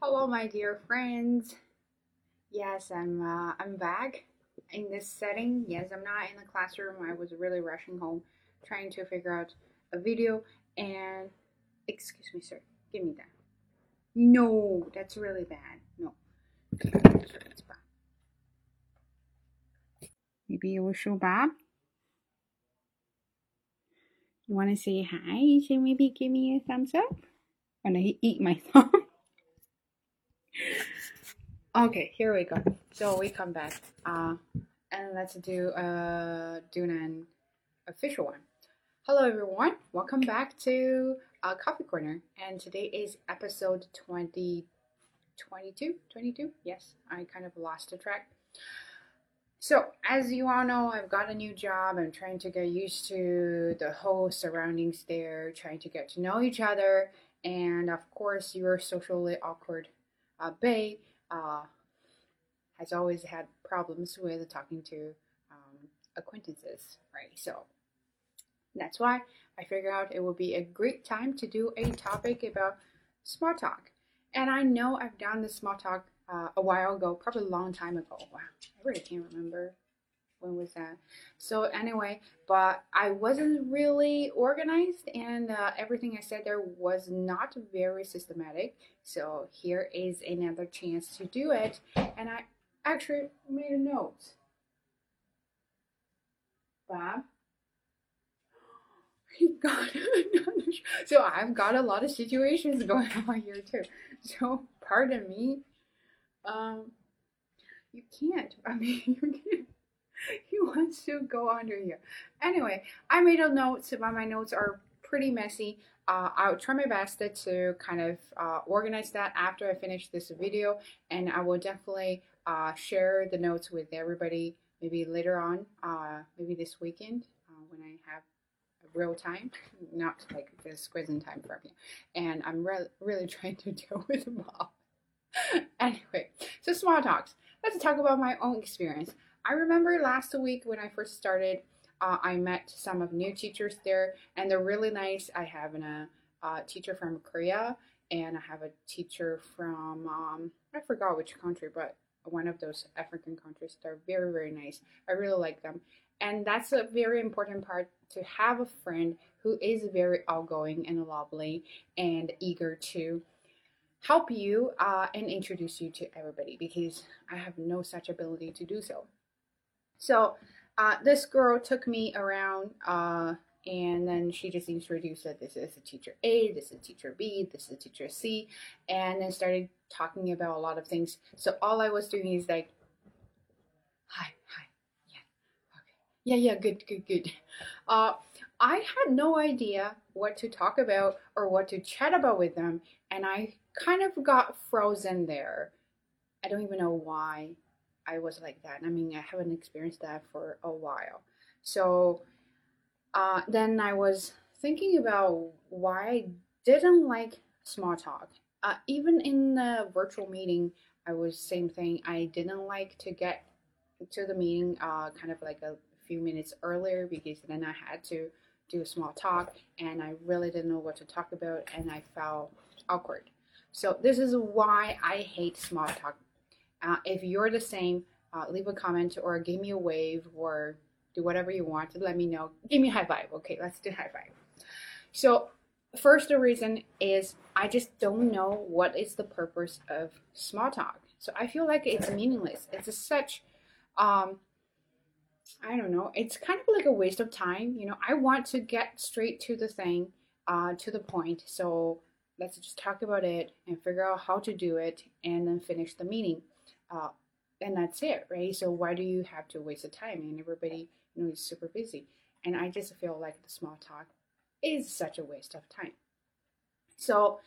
Hello, my dear friends. Yes, I'm back in this setting. Yes, I'm not in the classroom. I was really rushing home, trying to figure out a video. And excuse me, sir, give me that. No, that's really bad. No, it's bad. Maybe it was so bad. You want to say hi? So maybe give me a thumbs up. Oh no, he eat my thumb. Okay, here we go. So we come back. And let's do an official one. Hello, everyone. Welcome back to Coffee Corner. And today is episode 22. Yes, I kind of lost the track. So, as you all know, I've got a new job. I'm trying to get used to the whole surroundings there, trying to get to know each other. And of course, your socially awkward bae uh, has always had problems with talking to acquaintances, right? So, that's why I figured out it would be a great time to do a topic about small talk. And I know I've done this small talk a while ago, probably a long time ago. Wow, I really can't remember when was that. So anyway, but I wasn't really organized, and everything I said there was not very systematic. So here is another chance to do it, and I actually made a note. Bob, God, so I've got a lot of situations going on here too. So pardon me. Um, you can't. I mean, you can't. He wants to go under here. Anyway, I made a note, but my notes are pretty messy. I'll try my best to kind of organize that after I finish this video, and I will definitely share the notes with everybody maybe later on, maybe this weekend when I have real time, not like this quizzing time for you. And I'm really trying to deal with them all. Anyway, so small talks. Let's talk about my own experience. I remember last week when I first started, I met some of new teachers there, and they're really nice. I have a teacher from Korea, and I have a teacher from I forgot which country, but one of those African countries. They're very nice. I really like them, and that's a very important part to have a friend who is very outgoing and lovely and eager to help you and introduce you to everybody because I have no such ability to do so. So this girl took me around and then she just introduced that this is a teacher A, this is teacher B, this is teacher C, and then started talking about a lot of things. So all I was doing is like, hi, yeah, okay, yeah, good. Uh, I had no idea what to talk about or what to chat about with them, and I kind of got frozen there. I don't even know why I was like that. I mean, I haven't experienced that for a while. So then I was thinking about why I didn't like small talk. Even in the virtual meeting, I was same thing. I didn't like to get to the meeting kind of like a few minutes earlier because then I had to do a small talk and I really didn't know what to talk about and I felt awkward. So this is why I hate small talk. If you're the same, leave a comment or give me a wave or do whatever you want to let me know. Give me a high five. Okay, let's do high five. So first, the reason is I just don't know what is the purpose of small talk. So I feel like it's meaningless. It's such I don't know. It's kind of like a waste of time. I want to get straight to the thing, to the point. So let's just talk about it and figure out how to do it and then finish the meeting. Uh, and that's it, right? So why do you have to waste the time? And everybody, is super busy. And I just feel like the small talk is such a waste of time. So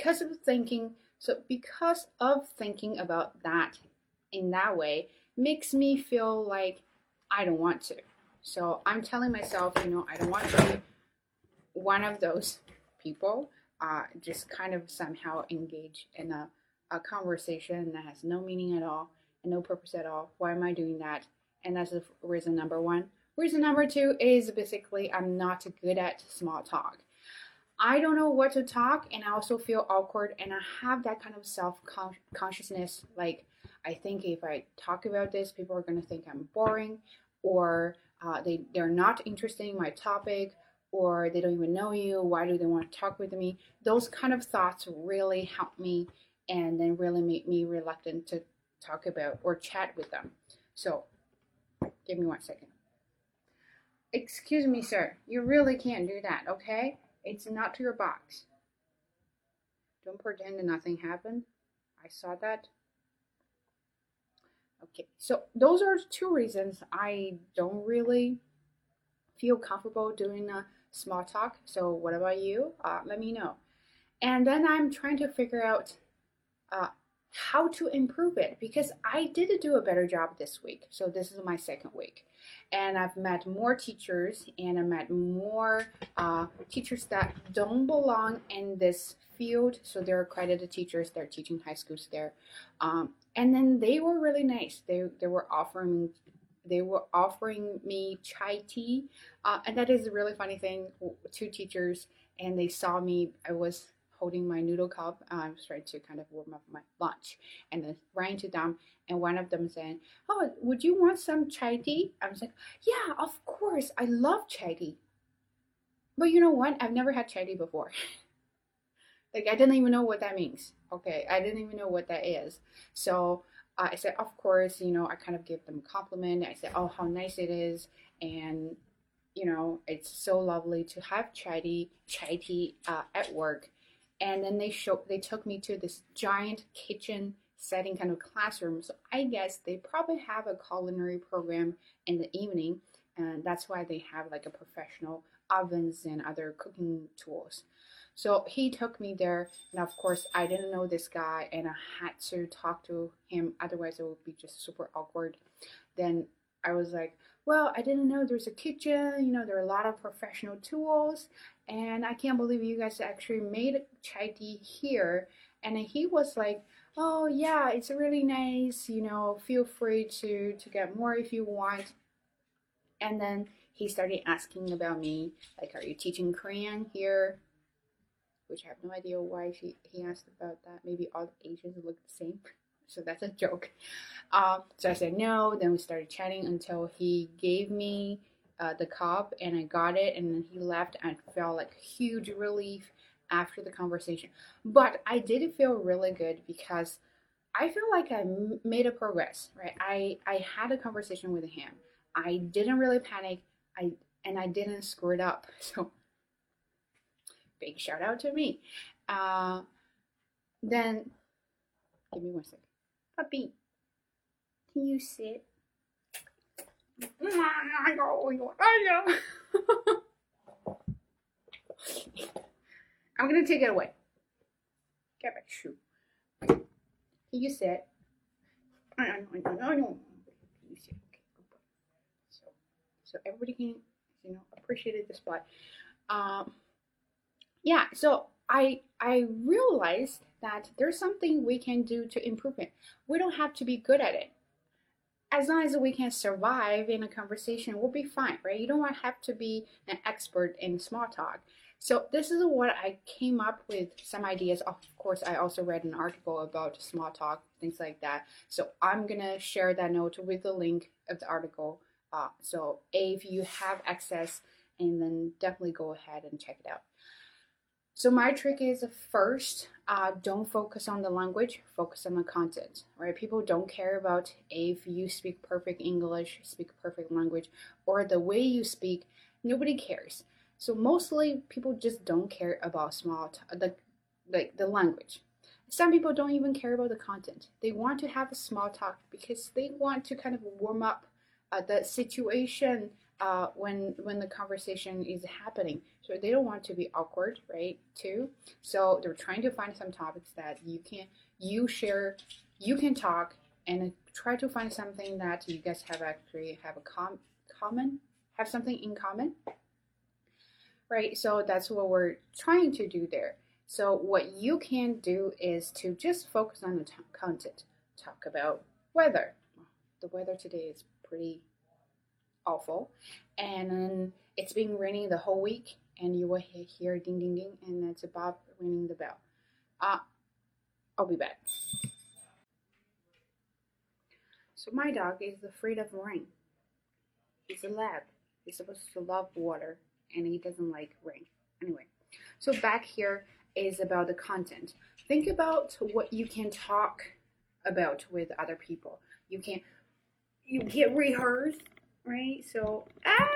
because of thinking about that in that way makes me feel like I don't want to. So I'm telling myself, I don't want to be one of those people, just kind of somehow engage in a conversation that has no meaning at all and no purpose at all. Why am I doing that? And that's the reason number one. Reason number two is basically I'm not good at small talk. I don't know what to talk, and I also feel awkward, and I have that kind of self consciousness. Like, I think if I talk about this, people are going to think I'm boring, or they're not interested in my topic, or they don't even know you. Why do they want to talk with me? Those kind of thoughts really help me, and then really make me reluctant to talk about or chat with them. So, give me 1 second. Excuse me, sir. You really can't do that, okay? It's not your box. Don't pretend that nothing happened. I saw that. Okay, so those are two reasons I don't really feel comfortable doing a small talk. So, what about you? Let me know. And then I'm trying to figure out uh, how to improve it because I did do a better job this week. So this is my second week, and I've met more teachers, and I met more teachers that don't belong in this field. So they're accredited teachers. They're teaching high schools there, and then they were really nice. They were offering me chai tea, and that is a really funny thing. Two teachers, and they saw me. I was holding my noodle cup. I was trying to kind of warm up my lunch, and then ran to them, and one of them said, "Oh, would you want some chai tea?" I was like, "Yeah, of course. I love chai tea." But you know what? I've never had chai tea before. Like I didn't even know what that means. Okay, I didn't even know what that is. So I said, of course, I kind of give them a compliment. I said, oh, how nice it is, and it's so lovely to have chai tea at work. And then they took me to this giant kitchen setting kind of classroom. So I guess they probably have a culinary program in the evening, and that's why they have like a professional ovens and other cooking tools. So he took me there, and of course, I didn't know this guy, and I had to talk to him. Otherwise, it would be just super awkward. Then I was like, well, I didn't know there's a kitchen. There are a lot of professional tools, and I can't believe you guys actually made chai tea here. And he was like, oh yeah, it's really nice. Feel free to get more if you want. And then he started asking about me, like, are you teaching Korean here? Which I have no idea why he asked about that. Maybe all Asians look the same. So that's a joke. So I said no. Then we started chatting until he gave me the cup, and I got it. And then he left, and I felt like huge relief after the conversation. But I did feel really good because I feel like I made a progress. Right? I had a conversation with him. I didn't really panic. I didn't screw it up. So big shout out to me. Uh, then give me 1 second. Puppy, can you sit? I'm gonna take it away. Get back, shoe. Can you sit? You sit. Okay, good boy. So everybody can appreciate the display. Yeah. So I realized that there's something we can do to improve it. We don't have to be good at it. As long as we can survive in a conversation, we'll be fine, right? You don't have to be an expert in small talk. So this is what I came up with some ideas. Of course, I also read an article about small talk, things like that. So I'm gonna share that note with the link of the article. So if you have access, and then definitely go ahead and check it out. So my trick is first, don't focus on the language, focus on the content, right? People don't care about if you speak perfect English, speak perfect language, or the way you speak. Nobody cares. So mostly people just don't care about the language. Some people don't even care about the content. They want to have a small talk because they want to kind of warm up the situation when the conversation is happening. So they don't want to be awkward, right? Too. So they're trying to find some topics that you can talk, and try to find something that you guys have common, have something in common, right? So that's what we're trying to do there. So what you can do is to just focus on the content. Talk about weather. The weather today is pretty awful, and it's been raining the whole week, and you will hear ding ding ding, and it's Bob ringing the bell. Uh, I'll be back. So my dog is afraid of rain. He's a lab. He's supposed to love water, and he doesn't like rain. Anyway, so back here is about the content. Think about what you can talk about with other people. You get rehearsed, right? So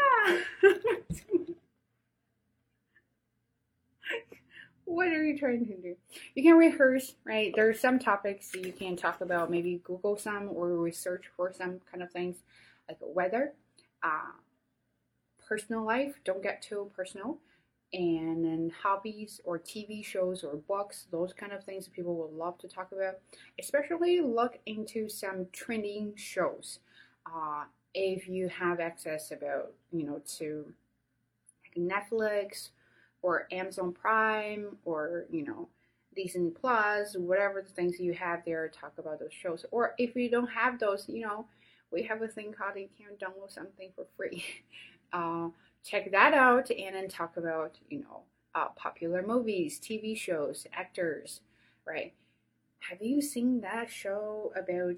what are you trying to do? You can rehearse, right? There's some topics you can talk about. Maybe Google some or research for some kind of things like weather, personal life. Don't get too personal. And then hobbies or TV shows or books, those kind of things people will love to talk about. Especially look into some trending shows. If you have access about, to Netflix or Amazon Prime or, Disney Plus, whatever the things you have there, talk about those shows. Or if you don't have those, we have a thing called you can download something for free. Check that out and then talk about, popular movies, TV shows, actors, right? Have you seen that show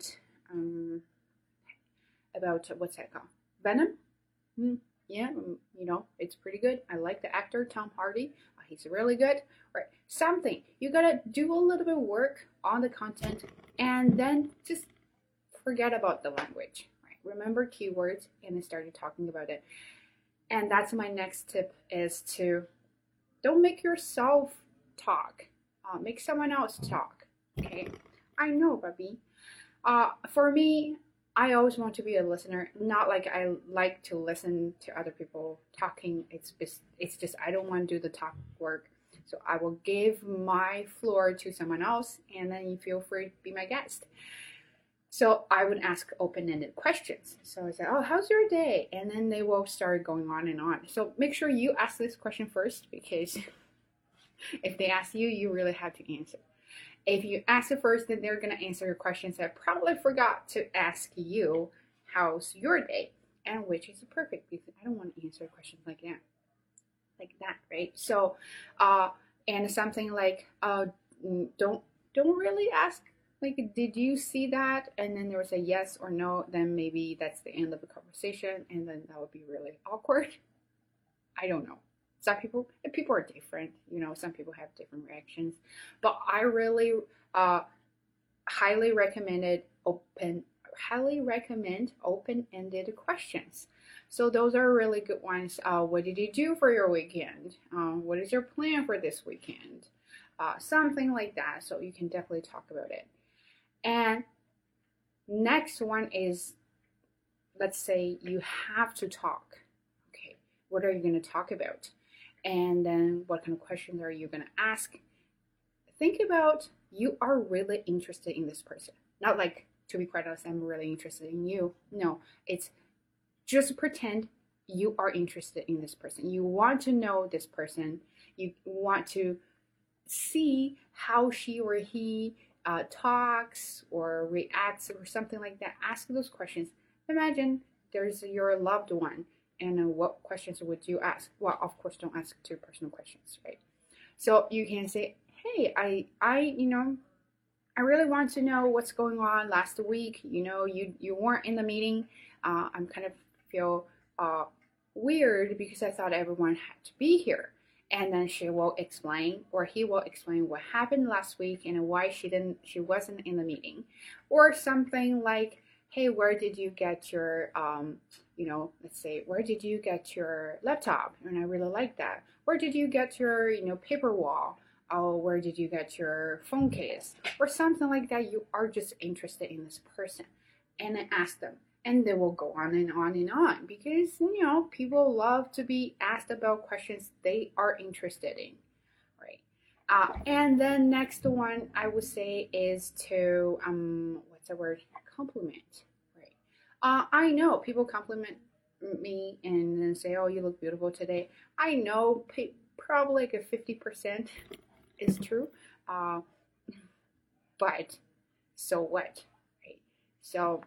about what's that called? Venom? Yeah, it's pretty good. I like the actor Tom Hardy. He's really good. Right, something you gotta do a little bit of work on the content, and then just forget about the language. Right, remember keywords, and then started talking about it. And that's my next tip: is to don't make yourself talk. Make someone else talk. Okay, I know, Bobby. For me, I always want to be a listener. Not like I like to listen to other people talking. It's just I don't want to do the talk work. So I will give my floor to someone else, and then you feel free to be my guest. So I would ask open-ended questions. So I said, "Oh, how's your day?" And then they will start going on and on. So make sure you ask this question first, because if they ask you, you really have to answer. If you ask it first, then they're going to answer your questions that probably forgot to ask you, how's your day? And which is perfect, because I don't want to answer questions like that, right? So, and something like, don't really ask, like, did you see that? And then there was a yes or no, then maybe that's the end of the conversation, and then that would be really awkward. I don't know. Some people are different, some people have different reactions, but I really highly recommend open-ended questions. So those are really good ones. What did you do for your weekend? What is your plan for this weekend? Something like that. So you can definitely talk about it. And next one is, let's say you have to talk. Okay, what are you going to talk about? And then what kind of questions are you going to ask? Think about, you are really interested in this person. Not like, to be quite honest, I'm really interested in you. No, it's just pretend you are interested in this person. You want to know this person. You want to see how she or he talks or reacts or something like that. Ask those questions. Imagine there's your loved one, and what questions would you ask? Well, of course, don't ask too personal questions, right? So you can say, "Hey, I really want to know what's going on last week. You weren't in the meeting. I'm kind of feel weird because I thought everyone had to be here." And then she will explain, or he will explain what happened last week and why she wasn't in the meeting, or something like, "Hey, where did you get your let's say, where did you get your laptop? And I really like that. Where did you get your paper wall? Oh, where did you get your phone case?" Or something like that. You are just interested in this person, and then ask them. And they will go on and on and on, because people love to be asked about questions they are interested in, right? And then next one I would say is to what's the word? Compliment, right? I know people compliment me and then say, "Oh, you look beautiful today." I know probably like a 50% is true, but so what, right? So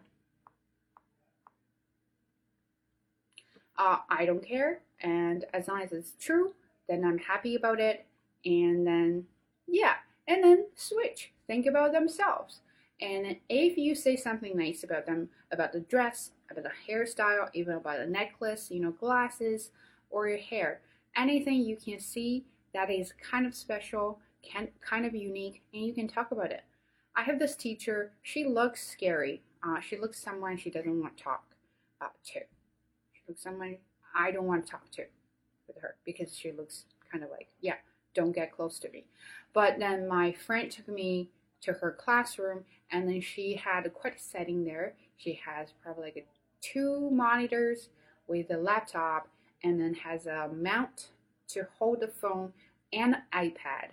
I don't care, and as long as it's true, then I'm happy about it. And then, yeah, and then switch. Think about themselves. And if you say something nice about them, about the dress, about the hairstyle, even about a necklace, glasses, or your hair, anything you can see that is kind of special, kind of unique, and you can talk about it. I have this teacher. She looks scary. She looks someone she doesn't want to talk to. She looks someone I don't want to talk to with her because she looks kind of like, yeah, don't get close to me. But then my friend took me to her classroom, and then she had quite a setting there. She has probably like two monitors with a laptop, and then has a mount to hold the phone and iPad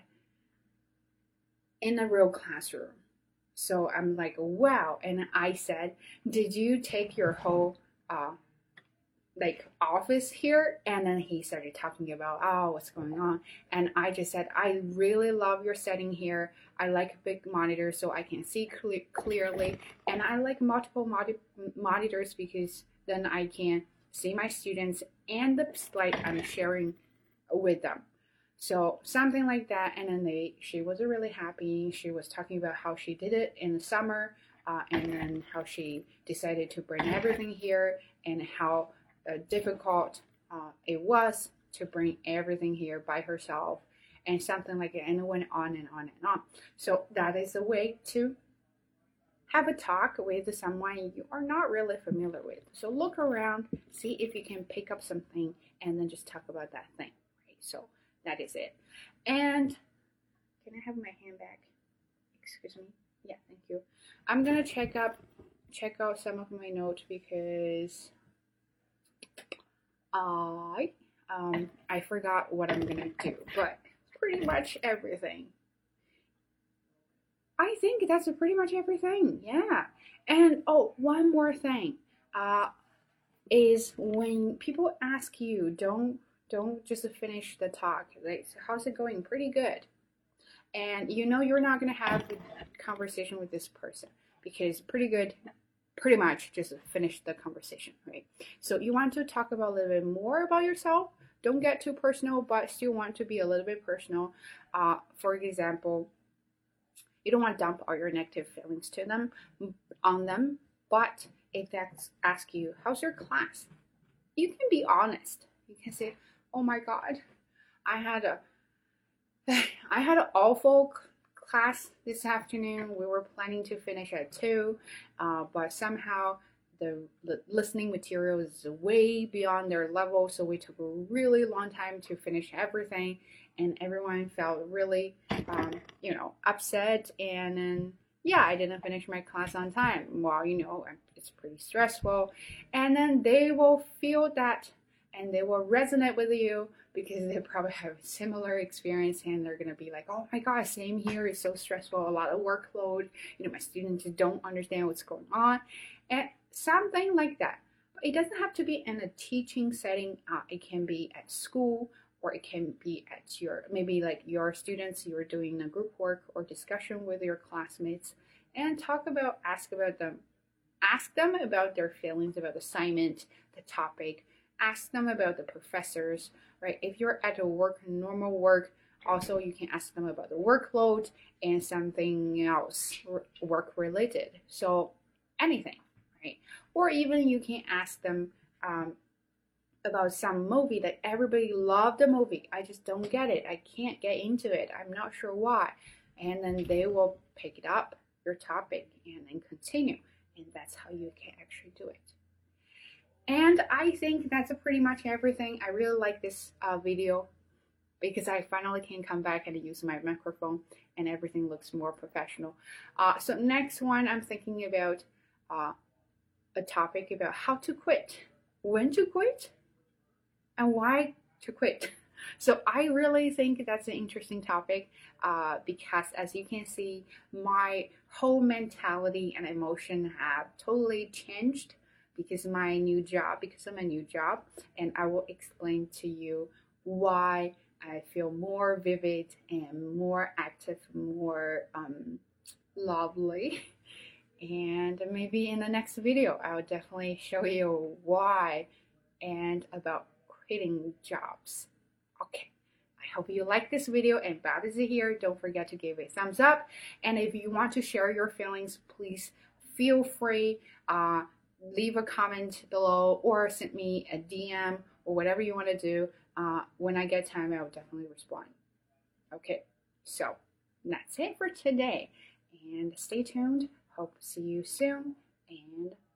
in a real classroom. So I'm like, wow. And I said, did you take your whole like office here? And then he started talking about, oh, what's going on. And I just said, I really love your setting here. I like big monitors so I can see clearly, and I like multiple monitors because then I can see my students and the slide I'm sharing with them. So something like that. And then she was really happy. She was talking about how she did it in the summer, and then how she decided to bring everything here, and how difficult it was to bring everything here by herself, and something like it. And it went on and on and on. So that is a way to have a talk with someone you are not really familiar with. So look around, see if you can pick up something, and then just talk about that thing. Right? So that is it. And can I have my hand back? Excuse me. Yeah, thank you. I'm gonna check out some of my notes because I forgot what I'm gonna do, but pretty much everything. I think that's pretty much everything. Yeah. And oh, one more thing. Is when people ask you, don't just finish the talk. Like, how's it going? Pretty good. And you're not gonna have a conversation with this person because pretty good pretty much just finish the conversation, right? So you want to talk about a little bit more about yourself. Don't get too personal, but still want to be a little bit personal. For example, you don't want to dump all your negative feelings on them, but if they ask you, how's your class? You can be honest. You can say, oh my God, I had a I had an awful class this afternoon. We were planning to finish at 2, but somehow the listening material is way beyond their level, so we took a really long time to finish everything, and everyone felt really, upset, and then, yeah, I didn't finish my class on time. Well, it's pretty stressful, and then they will feel that, and they will resonate with you because they probably have a similar experience, and they're going to be like, oh my gosh, same here, it's so stressful, a lot of workload, my students don't understand what's going on, and something like that. But it doesn't have to be in a teaching setting. It can be at school, or it can be at maybe like your students, you're doing a group work or discussion with your classmates, and ask them about their feelings about the assignment, the topic, ask them about the professors, right? If you're at a normal work, also you can ask them about the workload and something else work related. So anything, right? Or even you can ask them about some movie that everybody loved the movie. I just don't get it. I can't get into it. I'm not sure why. And then they will pick it up, your topic, and then continue. And that's how you can actually do it. And I think that's pretty much everything. I really like this video because I finally can come back and use my microphone, and everything looks more professional. So next one, I'm thinking about a topic about how to quit, when to quit, and why to quit. So I really think that's an interesting topic because, as you can see, my whole mentality and emotion have totally changed because of my new job, and I will explain to you why I feel more vivid and more active, more lovely. And maybe in the next video, I'll definitely show you why and about quitting jobs. Okay, hope you like this video, and Bob is here. Don't forget to give a thumbs up. And if you want to share your feelings, please feel free. Leave a comment below or send me a DM or whatever you want to do. When I get time, I will definitely respond. Okay, so that's it for today. And stay tuned. Hope to see you soon. And